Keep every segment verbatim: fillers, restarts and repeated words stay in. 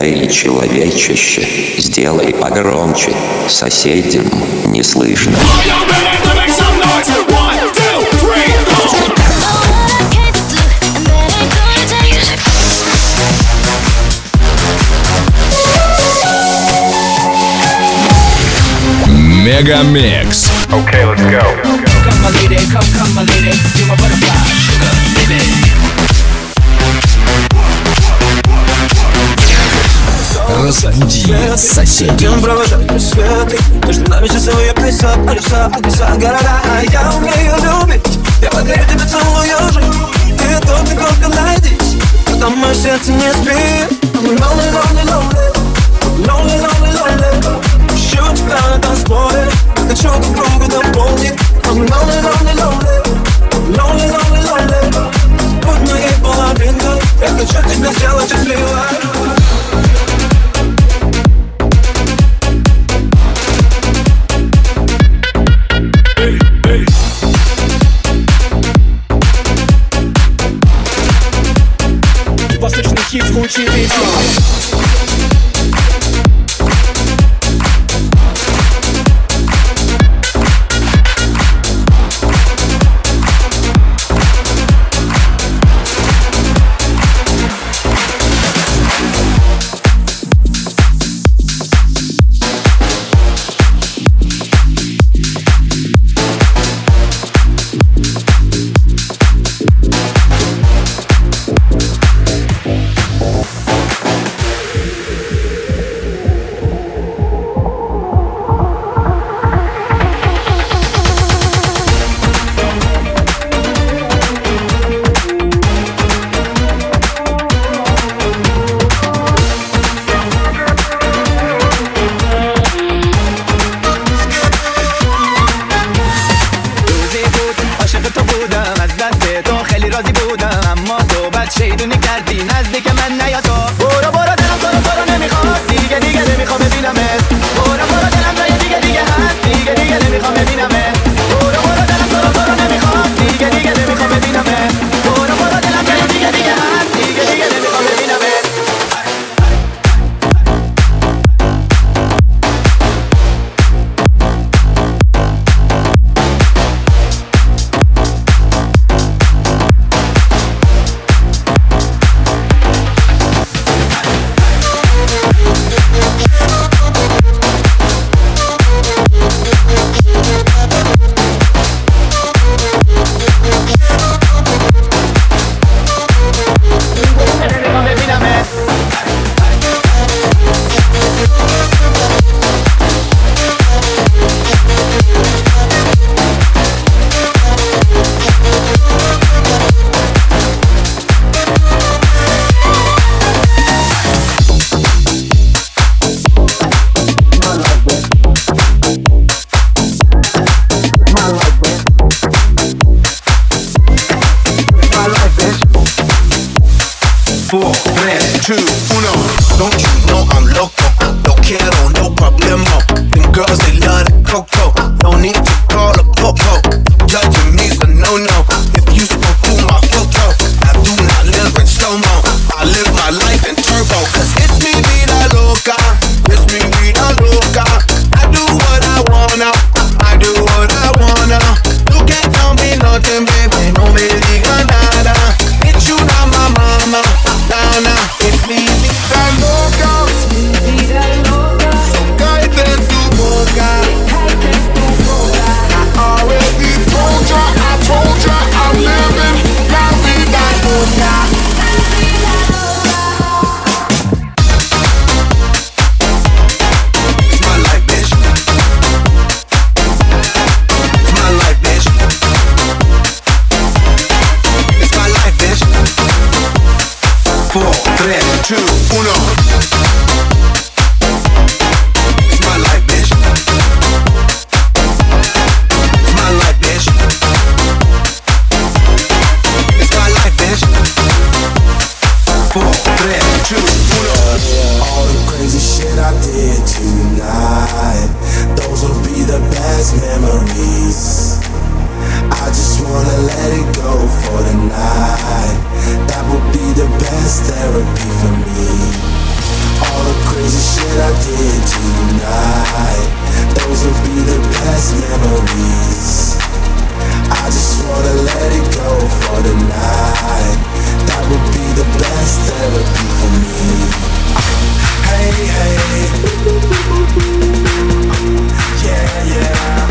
Эй, человечище, сделай погромче, соседям не слышно. Мегамикс. Okay, let's go. Come my lady, come, come my lady, you're my butterfly, sugar, baby. Разбуди соседей. Идем провожать рассветы. Между нами часовые пояса, полюса, адреса, города. А я умею любить, я подарю тебе целую жизнь. Ты тут не только найдись, потом мое сердце не спит. I'm lonely, lonely, lonely, lonely, lonely, lonely. Ищу тебя на танцполе, хочу друг друга дополнить. I'm lonely, lonely, lonely, lonely, lonely, lonely. Будь моей половинкой, я хочу тебя сделать счастливой. Восточный хит звучит и все. شیدونی کردی نزدیک من نیا تو برو برو دلم تو رو تو رو نمیخواد دیگه دیگه نمیخوام ببینمت برو برو دلم جای دیگه دیگه هست دیگه دیگه نمیخوام ببینمت برو برو دلم تو رو تو رو نمیخواد دیگه دیگه نمیخوام ببینمت برو برو دلم جای دیگه دیگه هست دیگه دیگه نمیخوام ببینمت Four, three, two, uno. Don't you know I'm loco? No quiero, no problemo. Them girls, they love the coco. No need to call a popo. Judging me's a no-no. If you spoke through my photo, I do not live in slow-mo. I live my life in turbo. Cause it's me, vida loca. It's me, vida loca. I do what I wanna. I do what I wanna. You can't tell me nothing, baby. No me diga nada. It's you, not my mama. Now, now, it's me, vida loca. vida loca. So cállate en tu boca. Cállate en tu boca. I already told ya, I told ya, I'm living la vida loca. It's my life, bitch. It's my life, bitch. It's my life, bitch. Four, three, two, uno. It's my life, bitch. It's my life, bitch. It's my life, bitch. Four, three, two, uno. All the crazy shit I did tonight, those will be the best memories. I just wanna let it go for the night. That would be the best therapy for me. All shit I did tonight. Those will be the best memories. I just wanna let it go for the night. That would be the best therapy for me. Hey, hey. Yeah, yeah.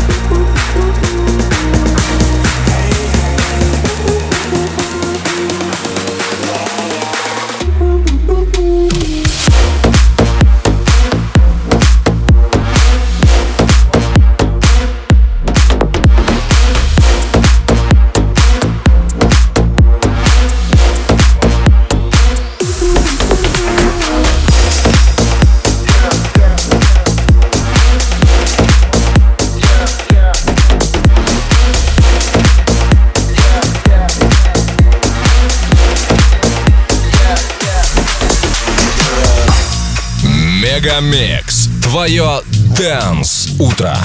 Мегамикс. Твое Dance утро.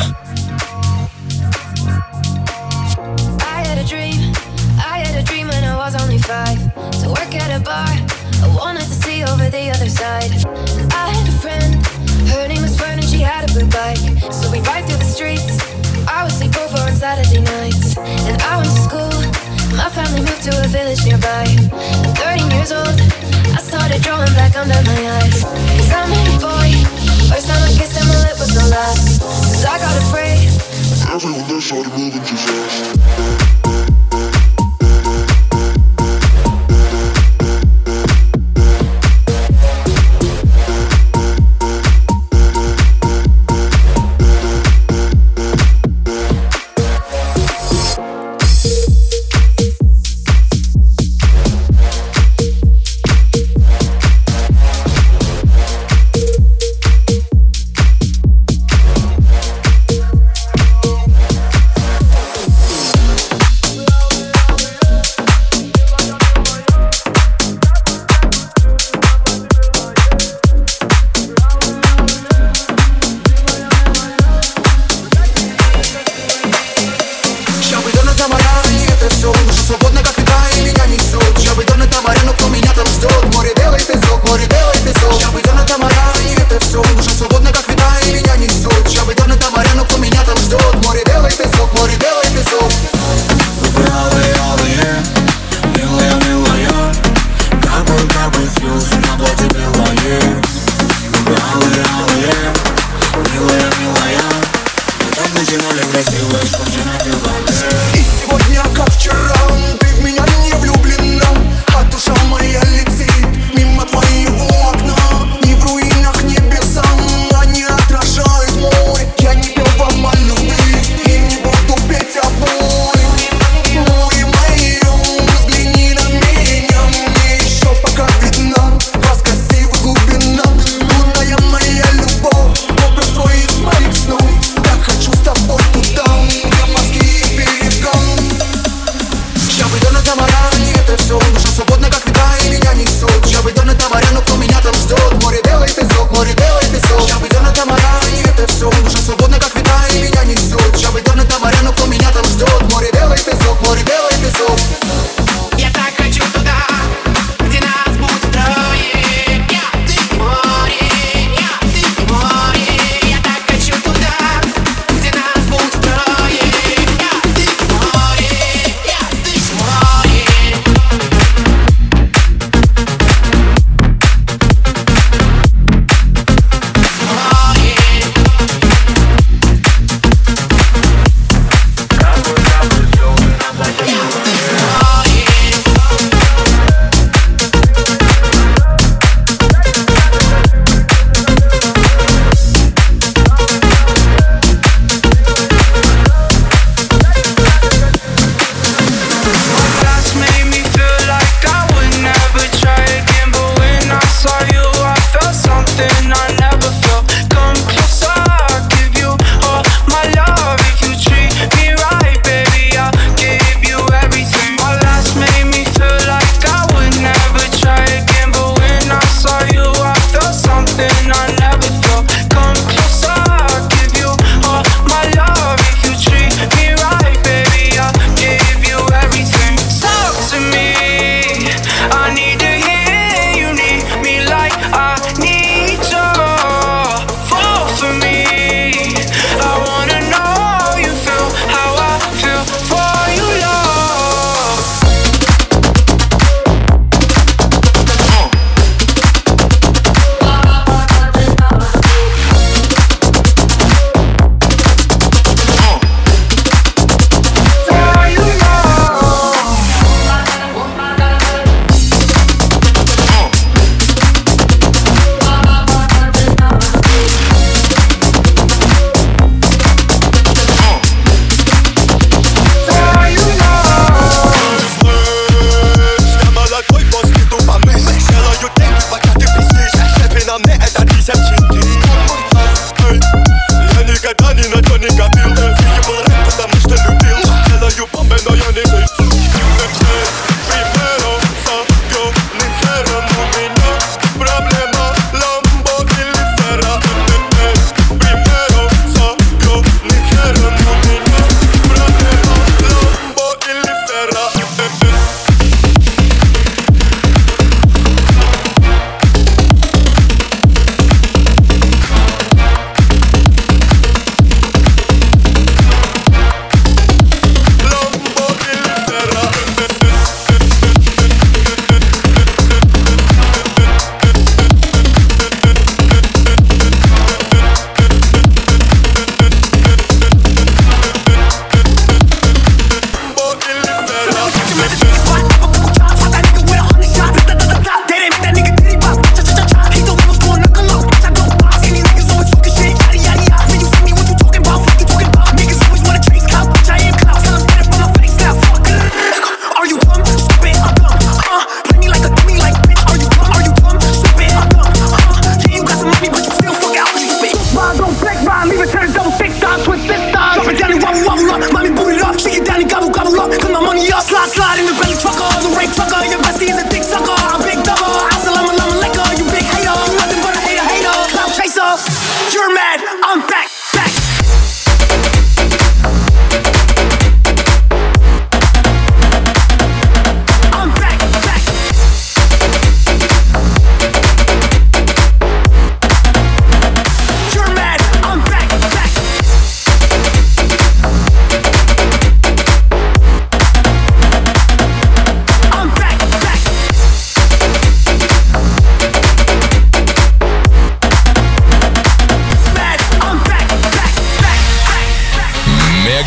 I had a dream, I had a dream when I was only five. To work at a bar, I wanted to see over the other side. I had a friend, her name was Fern and she had a blue bike. So we ride through the streets, I would sleep over on Saturday nights. And I went to school, my family moved to a village nearby. At thirteen years old, I started drawing black under my eyes. Cause I met a boy, first time I kissed him, my lip was no last. Cause I got afraid. Everyone there started moving too fast. И сегодня, как вчера, ты в меня не влюблена, а душа моя летит мимо твоего окна. Ни в руинах небеса, они отражают море. Я не пел вам о любви и не буду петь о боли. Море мое, взгляни на меня, мне еще пока видна вас красивых глубина. Лунная моя любовь, образ твой из моих снов. Я хочу с тобой туда, где мозги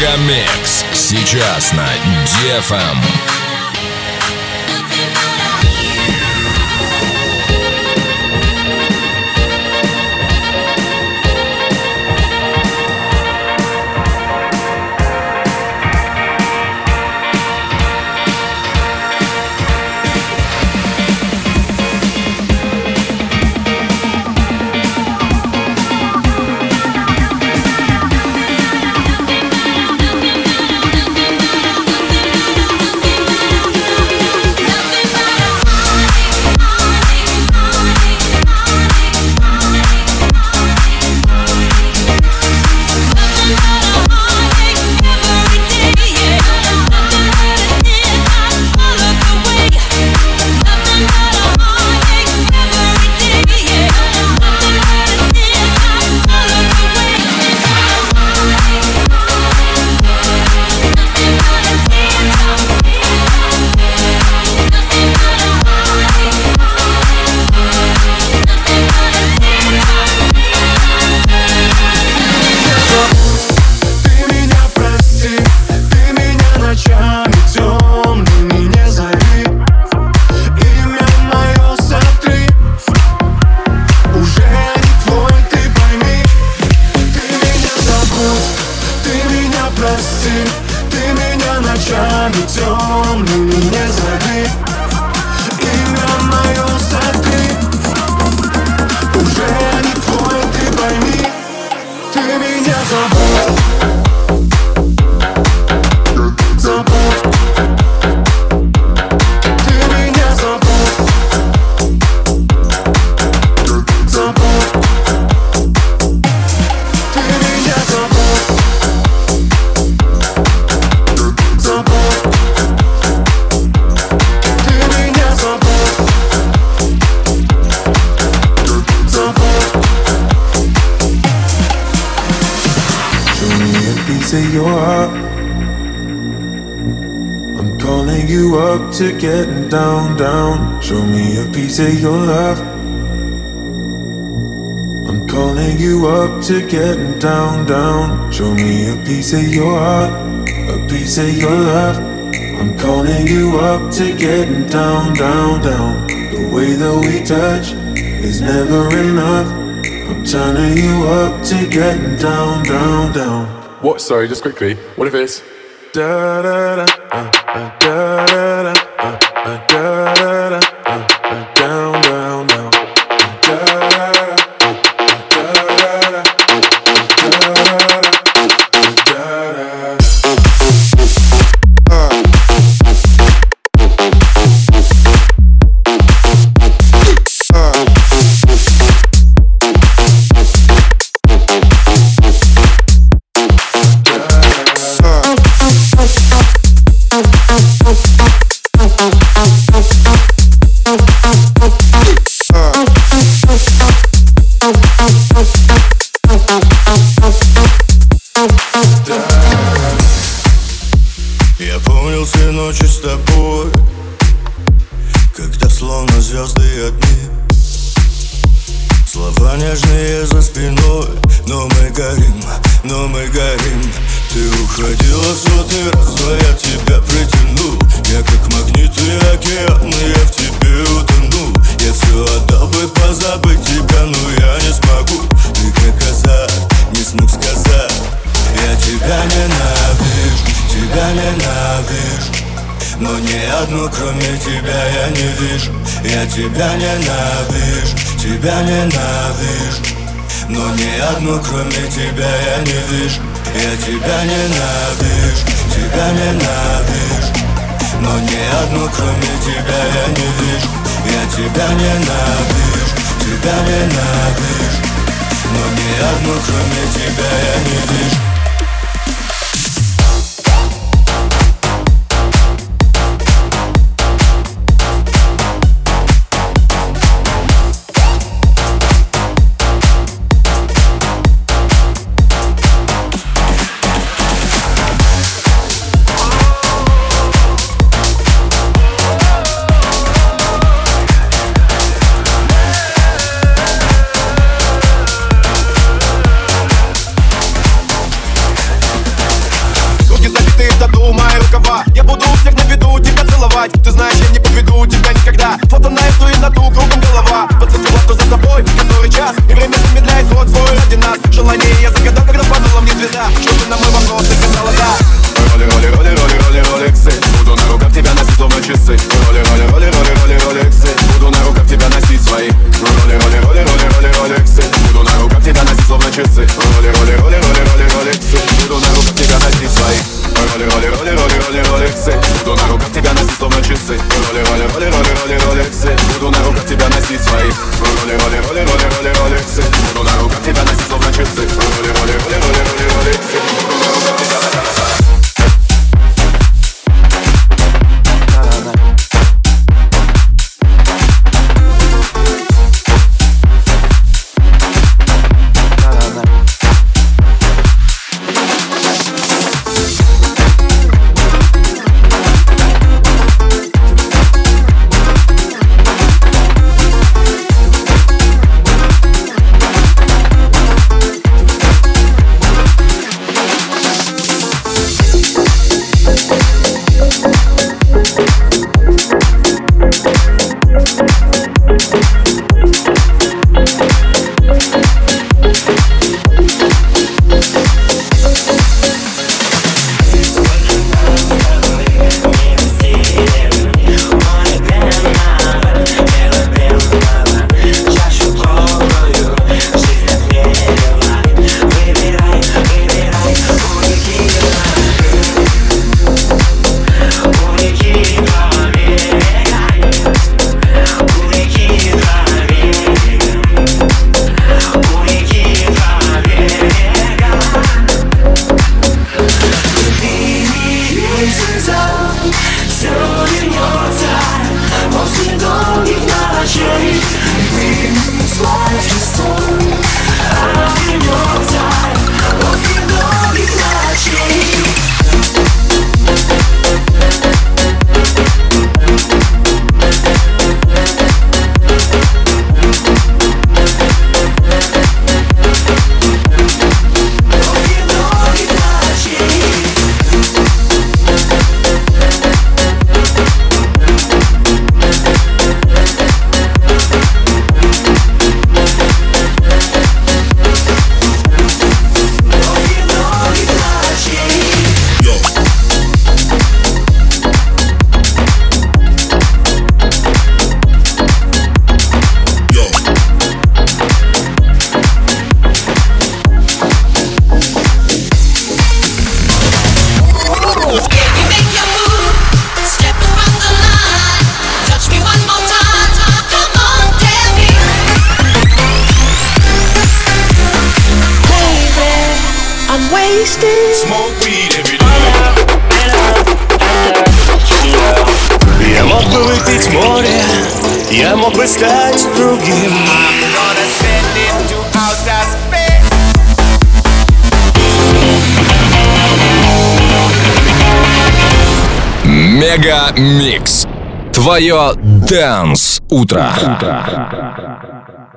Мегамикс сейчас на ди эф эм. To getting down, down. Show me a piece of your love. I'm calling you up to getting down, down. Show me a piece of your heart, a piece of your love. I'm calling you up to getting down, down, down. The way that we touch is never enough. I'm turning you up to getting down, down, down. What? Sorry, just quickly. What if it's da da da uh, uh, da da da. Uh, uh, da, da, da, uh, uh, down, down, down. Uh, da, da, da, uh, da, da, da, uh, da, da, da, Я помнил все ночи с тобой, когда словно звезды и огни. Слова нежные за спиной, но мы горим, но мы горим. Ты уходила сотый раз, но я тебя притянул. Я как магнит и океан, я в тебе утону. Я все отдал бы позабыть тебя, но я не смогу. Ты как азарт, не смог сказать. Я тебя ненавижу, тебя ненавижу. Но ни одну кроме тебя я не вижу. Я тебя ненавижу, тебя ненавижу. Но ни одну кроме тебя я не вижу. Я тебя ненавижу, тебя ненавижу. Но ни одну кроме тебя я не вижу. Я тебя ненавижу, тебя ненавижу. Но ни одну кроме тебя я не вижу. фото на эту и на ту, кругом голова. Подцепила, кто за тобой, который час. И время замедляет ход свой ради нас. Желание я загадал, когда падала мне звезда. Что ты на мой вопрос, ты сказала да. Роли, роли, роли, роли, роли, ролексы. Буду на руках тебя носить, словно часы. Роли, роли, роли, роли, роли, ролексы. Буду на руках тебя носить свои. Роли, роли, роли, роли, роли, ролексы. Буду на руках тебя носить, словно часы. Роли, роли, роли, роли, роли, ролексы. Буду на руках тебя носить свои. Роли, роли, роли, роли, роли, ролексы. Буду на руках тебя носить, словно часы. Роли, роли, роли, роли, роли, ролексы. Буду на руках тебя носить свои. Роли, роли, роли, роли, роли, ролексы. Буду на руках тебя носить, словно часы. Роли, роли, роли, роли, роли, ролексы. Буду на руках тебя носить. Я мог бы выпить море, я мог бы стать другим. Мега Микс. Твое Dance утро.